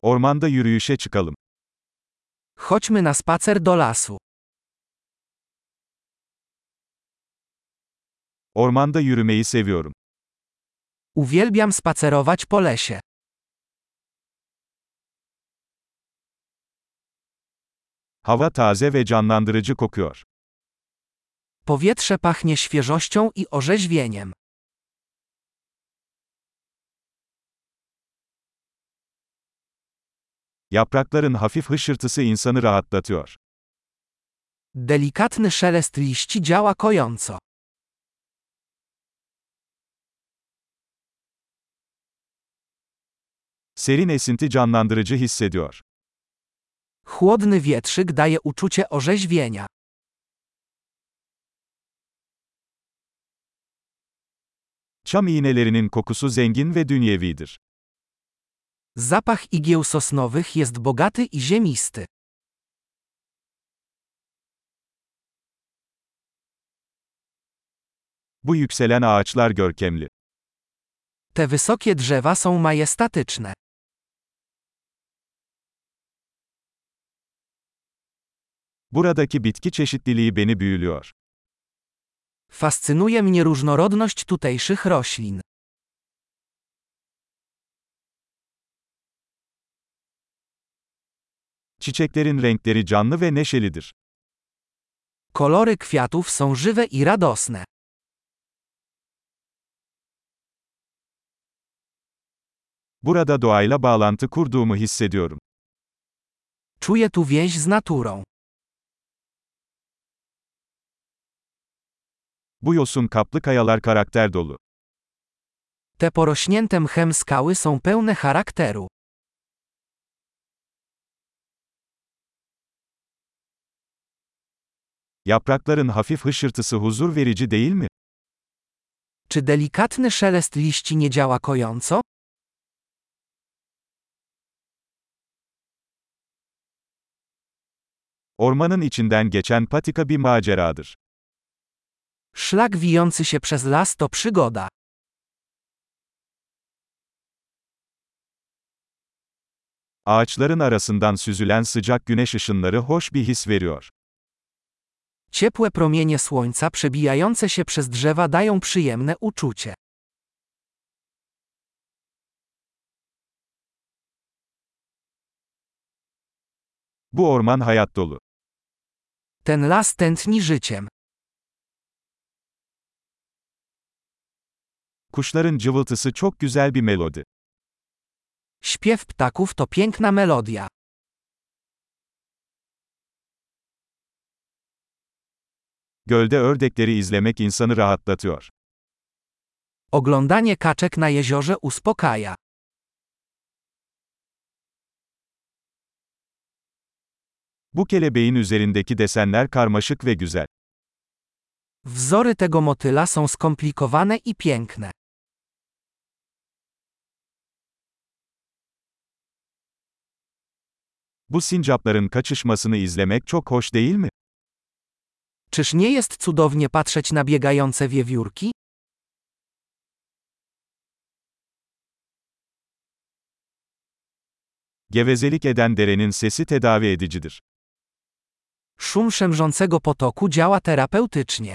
Ormanda yürüyüşe çıkalım. Chodźmy na spacer do lasu. Ormanda yürümeyi seviyorum. Uwielbiam spacerować po lesie. Hava taze ve canlandırıcı kokuyor. Powietrze pachnie świeżością i orzeźwieniem. Yaprakların hafif hışırtısı insanı rahatlatıyor. Delikatny szelest liści działa kojąco. Serin esinti canlandırıcı hissediyor. Chłodny wietrzyk daje uczucie orzeźwienia. Çam iğnelerinin kokusu zengin ve dünyevidir. Zapach igieł sosnowych jest bogaty i ziemisty. Bu yükselen ağaçlar görkemli. Te wysokie drzewa są majestatyczne. Buradaki bitki çeşitliliği beni büyülüyor. Fascynuje mnie różnorodność tutejszych roślin. Çiçeklerin renkleri canlı ve neşelidir. Kolory kwiatów są żywe i radosne. Burada doğayla bağlantı kurduğumu hissediyorum. Czuję tu więź z naturą. Bu yosun kaplı kayalar karakter dolu. Te porośnięte mchem skały są pełne charakteru. Yaprakların hafif hışırtısı huzur verici değil mi? Czy delikatny szelest liści nie działa kojąco? Ormanın içinden geçen patika bir maceradır. Szlak wijący się przez las to przygoda. Ağaçların arasından süzülen sıcak güneş ışınları hoş bir his veriyor. Ciepłe promienie słońca przebijające się przez drzewa dają przyjemne uczucie. Bu orman hayat dolu. Ten las tętni życiem. Kuşların cıvıltısı çok güzel bir melodi. Śpiew ptaków to piękna melodia. Gölde ördekleri izlemek insanı rahatlatıyor. Oglądanie kaczek na jeziorze uspokaja. Bu kelebeğin üzerindeki desenler karmaşık ve güzel. Wzory tego motyla są skomplikowane i piękne. Bu sincapların kaçışmasını izlemek çok hoş değil mi? Czyż nie jest cudownie patrzeć na biegające wiewiórki? Gevezelik eden derenin sesi tedavi edicidir. Szum szemrzącego potoku działa terapeutycznie.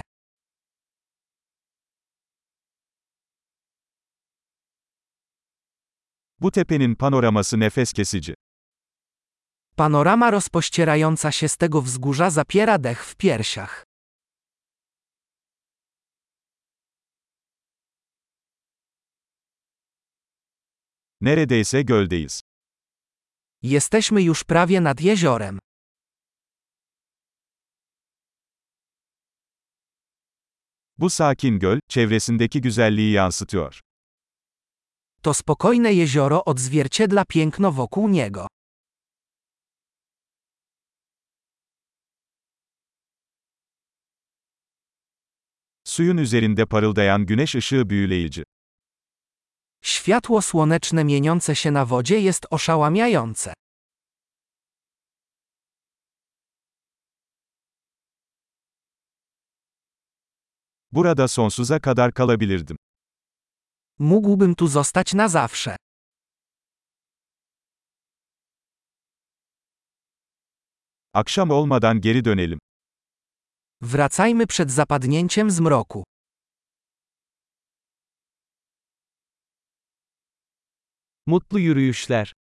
Bu tepenin panoraması nefes kesici. Panorama rozpościerająca się z tego wzgórza zapiera dech w piersiach. Neredeyse göldeyiz. Jesteśmy już prawie nad jeziorem. Bu sakin göl, çevresindeki güzelliği yansıtıyor. To spokojne jezioro odzwierciedla piękno wokół niego. Suyun üzerinde parıldayan güneş ışığı büyüleyici. Światło słoneczne mieniące się na wodzie jest oszałamiające. Burada sonsuza kadar kalabilirdim. Mógłbym tu zostać na zawsze. Akşam olmadan geri dönelim. Wracajmy przed zapadnięciem zmroku. Mutlu yürüyüşler.